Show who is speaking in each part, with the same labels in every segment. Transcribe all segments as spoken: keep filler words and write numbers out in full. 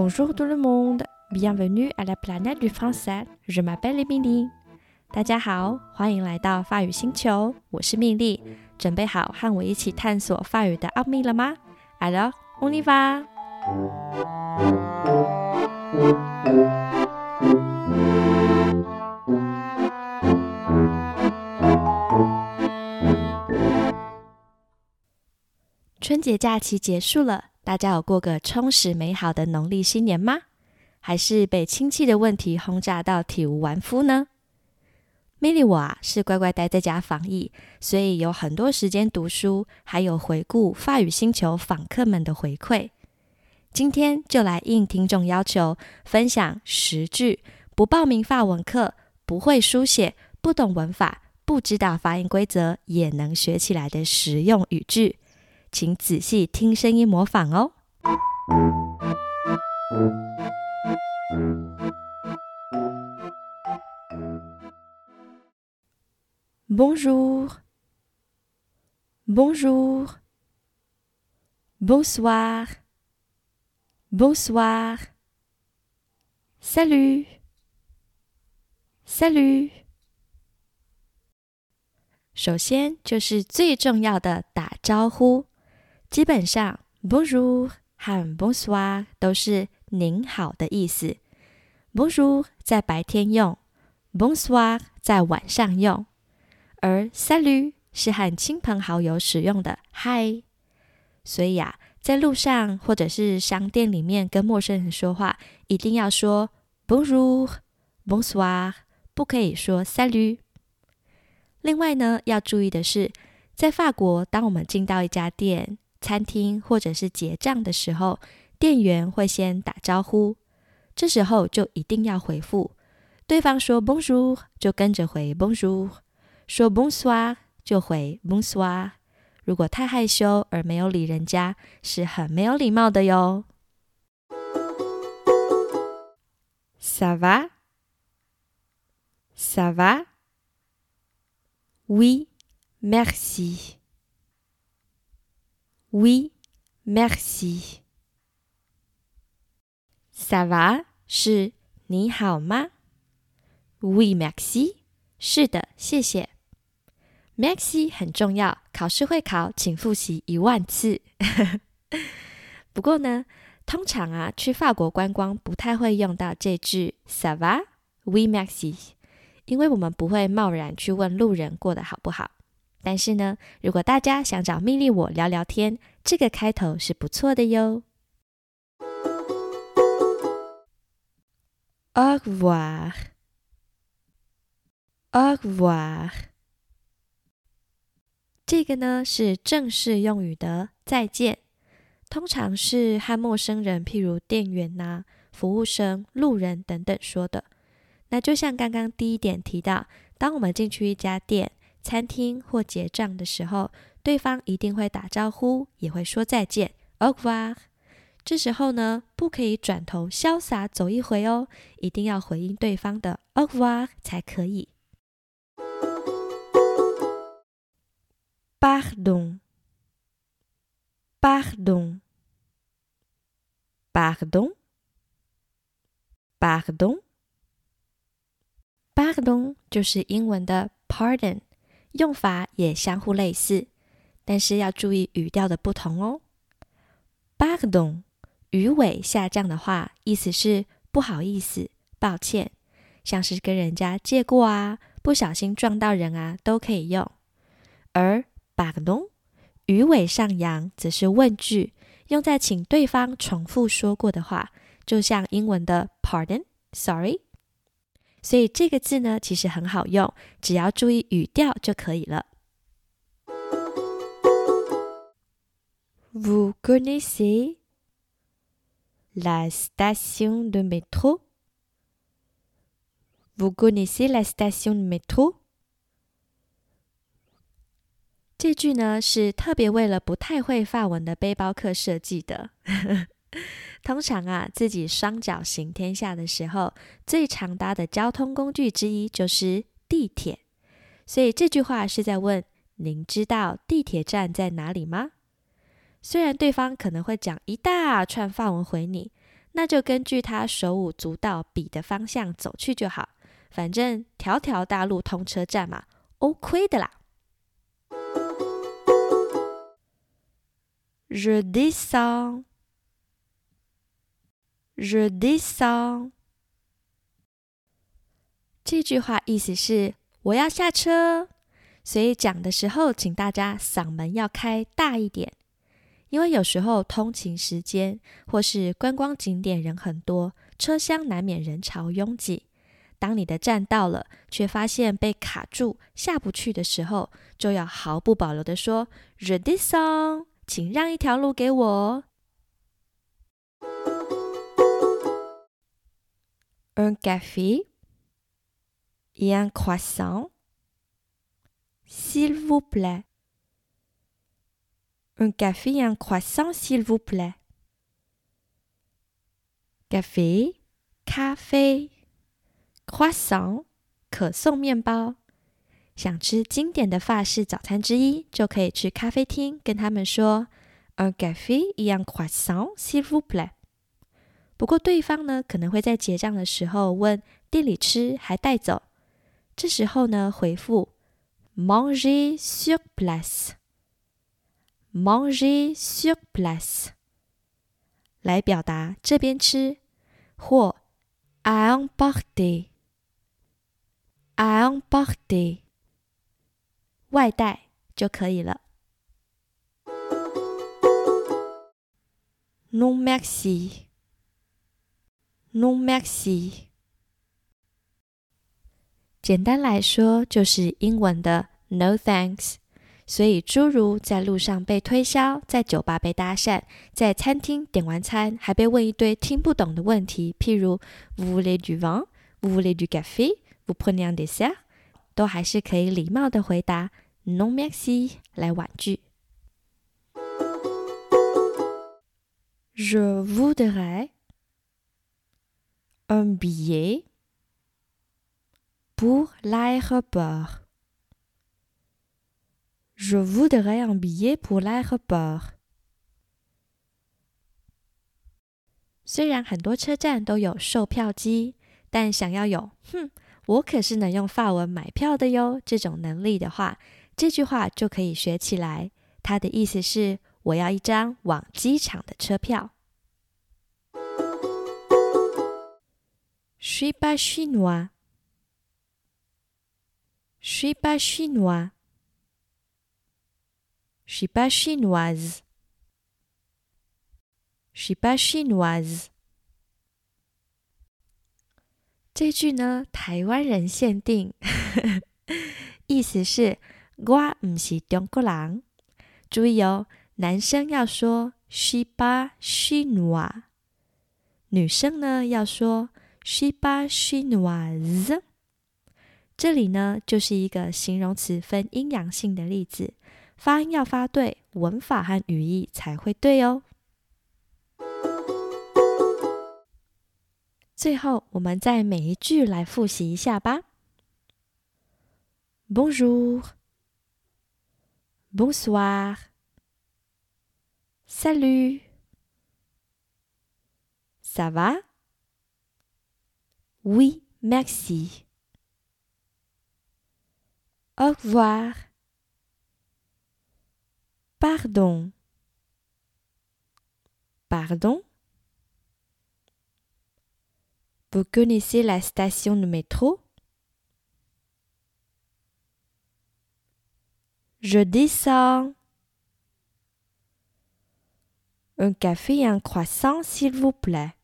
Speaker 1: Bonjour tout le monde, bienvenue à la planète du français. Je m'appelle Émilie. 大家好，欢迎来到法语星球，我是蜜莉。准备好和我一起探索法语的奥秘了吗？ Alors, on y va! 春节假期结束了，大家有过个充实美好的农历新年吗？还是被亲戚的问题轰炸到体无完肤呢？蜜莉我啊是乖乖待在家防疫，所以有很多时间读书，还有回顾法语星球访客们的回馈。今天就来应听众要求，分享十句不报名法文课、不会书写、不懂文法、不知道发音规则也能学起来的实用语句。请仔细听声音模仿哦。Bonjour, bonjour, bonsoir, bonsoir, salut, salut。首先就是最重要的打招呼。基本上 Bonjour 和 Bonsoir 都是您好的意思。 Bonjour 在白天用， Bonsoir 在晚上用，而 Salut 是和亲朋好友使用的嗨。所以啊，在路上或者是商店里面跟陌生人说话，一定要说 Bonjour, Bonsoir， 不可以说 Salut。 另外呢，要注意的是，在法国，当我们进到一家店、餐厅或者是结账的时候，店员会先打招呼，这时候就一定要回复。对方说 Bonjour 就跟着回 Bonjour， 说 Bonsoir 就回 Bonsoir。 如果太害羞而没有理人家，是很没有礼貌的哟。 Ça va? Ça va? Oui, merci.Oui, merci. Ça va 是你好吗？ Oui, merci 是的，谢谢。 Merci 很重要，考试会考，请复习一万次。不过呢，通常啊，去法国观光不太会用到这句 Ça va? Oui, merci， 因为我们不会贸然去问路人过得好不好。但是呢，如果大家想找蜜莉我聊聊天，这个开头是不错的哟。 Au revoir, au revoir。 这个呢是正式用语的再见，通常是和陌生人，譬如店员啊、服务生、路人等等说的。那就像刚刚第一点提到，当我们进去一家店、餐厅或结账的时候，对方一定会打招呼，也会说再见 Au revoir。 这时候呢，不可以转头潇洒走一回哦，一定要回应对方的 Au revoir 才可以。 Pardon, pardon, pardon, pardon。 Pardon 就是英文的 pardon，用法也相互类似，但是要注意语调的不同哦。 Pardon 语尾下降的话，意思是不好意思、抱歉，像是跟人家借过啊、不小心撞到人啊，都可以用。而 Pardon 语尾上扬则是问句，用在请对方重复说过的话，就像英文的 Pardon, sorry。所以这个字呢，其实很好用，只要注意语调就可以了。Vous connaissez la station de métro? Vous connaissez la station de métro? 这句呢是特别为了不太会法文的背包客设计的。通常啊，自己双脚行天下的时候，最常搭的交通工具之一就是地铁。所以这句话是在问，您知道地铁站在哪里吗？虽然对方可能会讲一大串法文回你， 那就根据他手舞足蹈比的方向走去就好，反正条条大路通车站嘛 ，OK 的啦。Je descends, je descends。这句话意思是我要下车，所以讲的时候，请大家嗓门要开大一点，因为有时候通勤时间或是观光景点人很多，车厢难免人潮拥挤。当你的站到了，却发现被卡住下不去的时候，就要毫不保留地说 Je descends， 请让一条路给我。Un café et un croissant, s'il vous plaît. Un café et un croissant, s'il vous plaît. Café, 咖啡 croissant, 可颂面包。想吃经典的法式早餐之一，就可以去咖啡厅跟他们说 Un café et un croissant, s'il vous plaît. 不过对方呢，可能会在结账的时候问店里吃还带走，这时候呢，回复 Manger sur place, Manger sur place 来表达这边吃，或 à emporter, à emporter 外带就可以了。Non merci, non merci。简单来说，就是英文的 no thanks。所以诸如在路上被推销，在酒吧被搭讪，在餐厅点完餐还被问一堆听不懂的问题，譬如 Vous voulez du vin? Vous voulez du café? Vous prenez un dessert? 都还是可以礼貌的回答 Non merci 来婉拒。Je voudrais un billet pour l'aéroport. Je voudrais un billet pour l'aéroport. 虽然很多车站都有售票机，但想要有哼，我可是能用法文买票的哟这种能力的话，这句话就可以学起来。它的意思是我要一张往机场的车票。Je suis pas chinois. Je suis pas chinois. Je suis pas chinoise. Je suis pas chinoise. 这句呢，台湾人限定，意思是我不是中国人。注意哦，男生要说 Je suis pas chinois， 女生呢要说 Je suis pas chinoise。这里呢，就是一个形容词分阴阳性的例子，发音要发对，文法和语义才会对哦。最后，我们再每一句来复习一下吧。Bonjour, bonsoir, salut, ça va? Oui, merci. Au revoir. Pardon. Pardon? Vous connaissez la station de métro? Je descends. Un café et un croissant, s'il vous plaît.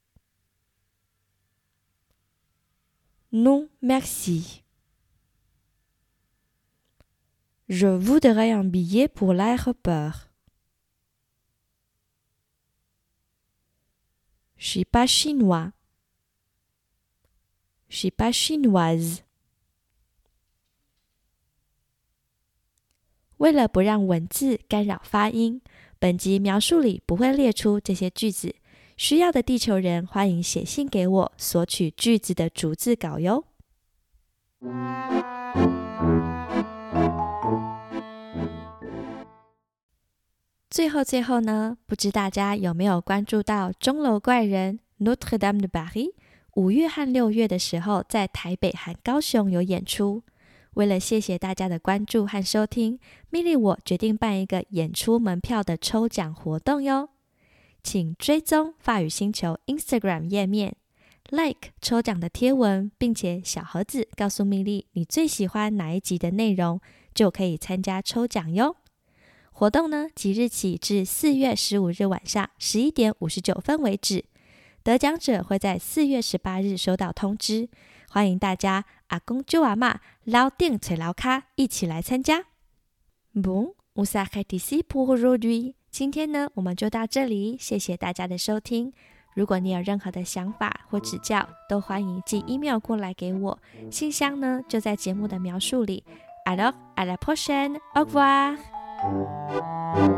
Speaker 1: Non, merci. Je voudrais un billet pour l'aéroport. Je suis pas chinois. Je suis pas chinoise. 为了不让文字干扰发音，本集描述里不会列出这些句子。需要的地球人欢迎写信给我，索取句子的逐字稿哟。最后最后呢，不知大家有没有关注到钟楼怪人 Notre-Dame de Paris， 五月和六月的时候在台北和高雄有演出。为了谢谢大家的关注和收听，蜜莉我决定办一个演出门票的抽奖活动哟。请追踪法语星球 Instagram 页面， like 抽奖的贴文，并且小盒子告诉蜜莉你最喜欢哪一集的内容，就可以参加抽奖哟。活动呢，即日起至四月十五日晚上十一点五十九分为止，得奖者会在四月十八日收到通知。欢迎大家阿公舅阿嬷老丁吹老卡一起来参加。Bon, on s'arrête ici pour aujourd'hui。今天呢，我们就到这里，谢谢大家的收听。如果你有任何的想法或指教，都欢迎寄 email 过来给我，信箱呢就在节目的描述里。Alors, à la prochaine, au revoir。